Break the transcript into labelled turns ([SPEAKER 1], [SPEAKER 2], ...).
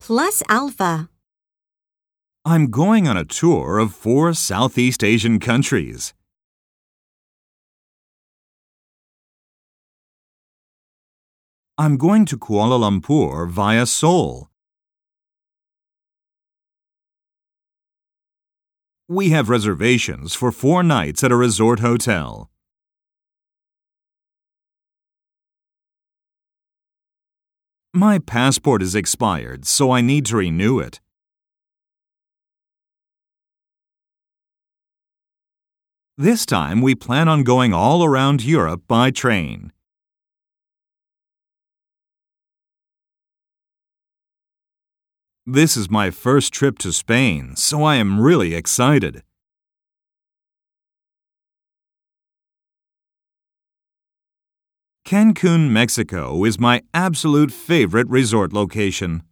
[SPEAKER 1] plus alpha.
[SPEAKER 2] I'm going on a tour of 4 Southeast Asian countries. I'm going to Kuala Lumpur via Seoul. We have reservations for 4 nights at a resort hotel. My passport is expired, so I need to renew it. This time we plan on going all around Europe by train. This is my first trip to Spain, so I am really excited. Cancun, Mexico is my absolute favorite resort location.